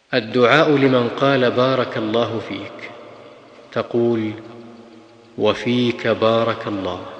الدعاء لمن قال بارك الله فيك، تقول: وفيك بارك الله.